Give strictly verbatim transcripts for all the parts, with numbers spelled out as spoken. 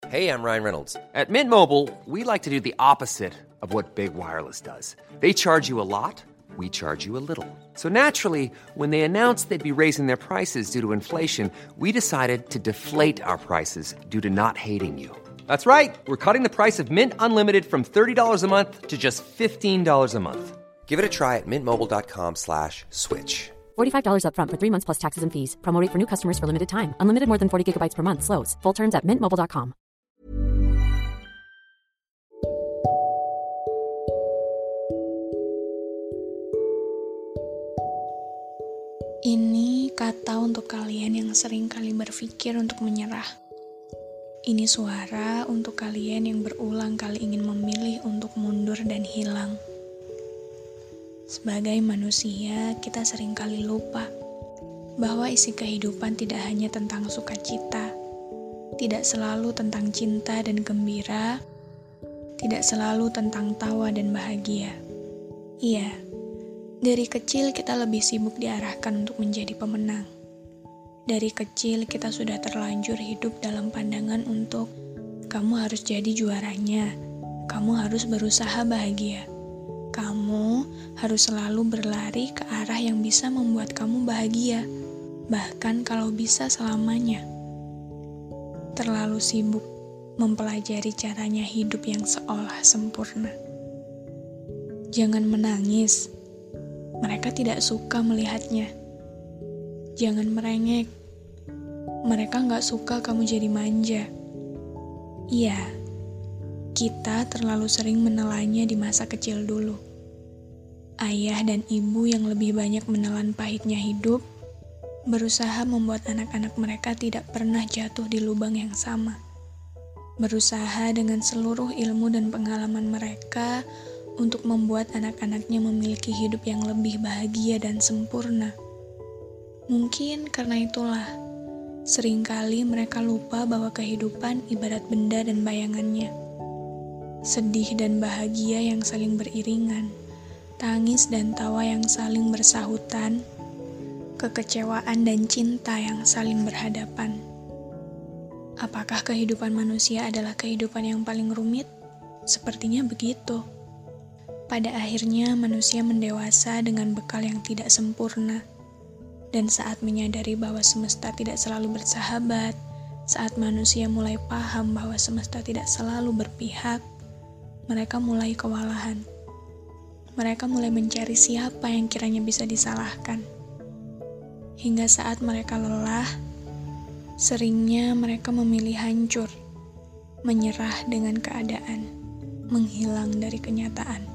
Hey, I'm Ryan Reynolds. At Mint Mobile, we like to do the opposite of what Big Wireless does. They charge you a lot, we charge you a little. So naturally, when they announced they'd be raising their prices due to inflation, we decided to deflate our prices due to not hating you. That's right. We're cutting the price of Mint Unlimited from thirty dollars a month to just fifteen dollars a month. Give it a try at mintmobile.com slash switch. forty-five dollars up front for three months plus taxes and fees. Promo rate for new customers for limited time. Unlimited more than forty gigabytes per month slows. Full terms at mint mobile dot com. Ini kata untuk kalian yang sering kali berpikir untuk menyerah. Ini suara untuk kalian yang berulang kali ingin memilih untuk mundur dan hilang. Sebagai manusia, kita sering kali lupa bahwa isi kehidupan tidak hanya tentang sukacita, tidak selalu tentang cinta dan gembira, tidak selalu tentang tawa dan bahagia. Iya, dari kecil kita lebih sibuk diarahkan untuk menjadi pemenang. Dari kecil kita sudah terlanjur hidup dalam pandangan untuk kamu harus jadi juaranya, kamu harus berusaha bahagia, kamu harus selalu berlari ke arah yang bisa membuat kamu bahagia, bahkan kalau bisa selamanya. Terlalu sibuk mempelajari caranya hidup yang seolah sempurna. Jangan menangis. Mereka tidak suka melihatnya. Jangan merengek. Mereka gak suka kamu jadi manja. Iya, kita terlalu sering menelannya di masa kecil dulu. Ayah dan ibu yang lebih banyak menelan pahitnya hidup, berusaha membuat anak-anak mereka tidak pernah jatuh di lubang yang sama. Berusaha dengan seluruh ilmu dan pengalaman mereka untuk membuat anak-anaknya memiliki hidup yang lebih bahagia dan sempurna. Mungkin karena itulah, seringkali mereka lupa bahwa kehidupan ibarat benda dan bayangannya. Sedih dan bahagia yang saling beriringan, tangis dan tawa yang saling bersahutan, kekecewaan dan cinta yang saling berhadapan. Apakah kehidupan manusia adalah kehidupan yang paling rumit? Sepertinya begitu. Pada akhirnya manusia mendewasa dengan bekal yang tidak sempurna. Dan saat menyadari bahwa semesta tidak selalu bersahabat, saat manusia mulai paham bahwa semesta tidak selalu berpihak, mereka mulai kewalahan. Mereka mulai mencari siapa yang kiranya bisa disalahkan. Hingga saat mereka lelah, seringnya mereka memilih hancur, menyerah dengan keadaan, menghilang dari kenyataan.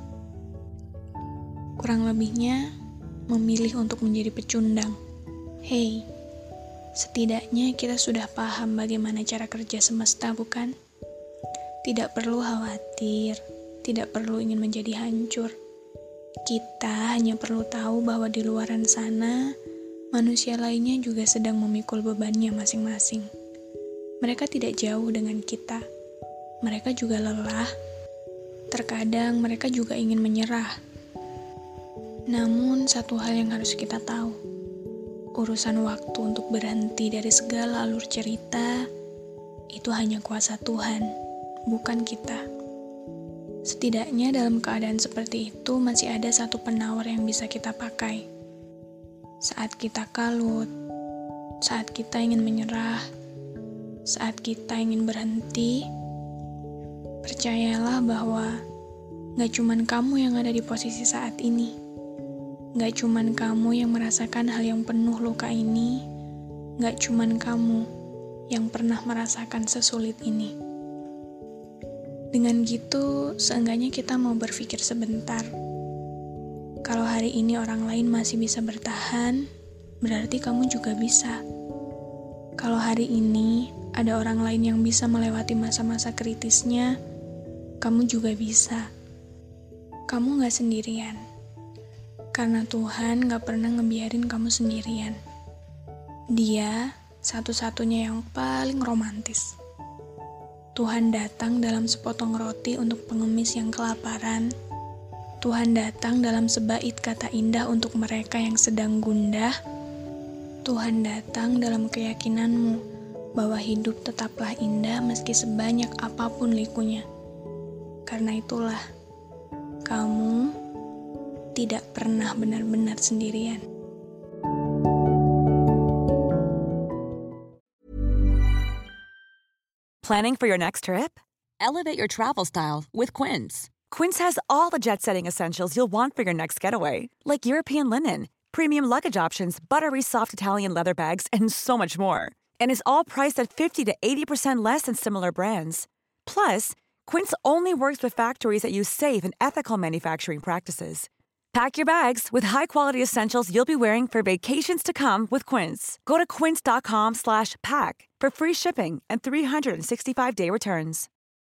Kurang lebihnya, memilih untuk menjadi pecundang. Hei, setidaknya kita sudah paham bagaimana cara kerja semesta, bukan? Tidak perlu khawatir, tidak perlu ingin menjadi hancur. Kita hanya perlu tahu bahwa di luaran sana, manusia lainnya juga sedang memikul bebannya masing-masing. Mereka tidak jauh dengan kita. Mereka juga lelah. Terkadang mereka juga ingin menyerah. Namun, satu hal yang harus kita tahu, urusan waktu untuk berhenti dari segala alur cerita, itu hanya kuasa Tuhan, bukan kita. Setidaknya dalam keadaan seperti itu, masih ada satu penawar yang bisa kita pakai. Saat kita kalut, saat kita ingin menyerah, saat kita ingin berhenti, percayalah bahwa gak cuman kamu yang ada di posisi saat ini. Gak cuman kamu yang merasakan hal yang penuh luka ini, gak cuman kamu yang pernah merasakan sesulit ini. Dengan gitu, seenggaknya kita mau berpikir sebentar. Kalau hari ini orang lain masih bisa bertahan, berarti kamu juga bisa. Kalau hari ini ada orang lain yang bisa melewati masa-masa kritisnya, kamu juga bisa. Kamu gak sendirian. Karena Tuhan gak pernah ngebiarin kamu sendirian. Dia satu-satunya yang paling romantis. Tuhan datang dalam sepotong roti untuk pengemis yang kelaparan. Tuhan datang dalam sebait kata indah untuk mereka yang sedang gundah. Tuhan datang dalam keyakinanmu bahwa hidup tetaplah indah meski sebanyak apapun likunya. Karena itulah, kamu tidak pernah benar-benar sendirian. Planning for your next trip? Elevate your travel style with Quince. Quince has all the jet-setting essentials you'll want for your next getaway, like European linen, premium luggage options, buttery soft Italian leather bags, and so much more. And is all priced at fifty to eighty percent less than similar brands. Plus, Quince only works with factories that use safe and ethical manufacturing practices. Pack your bags with high-quality essentials you'll be wearing for vacations to come with Quince. Go to quince.com slash pack for free shipping and three sixty-five day returns.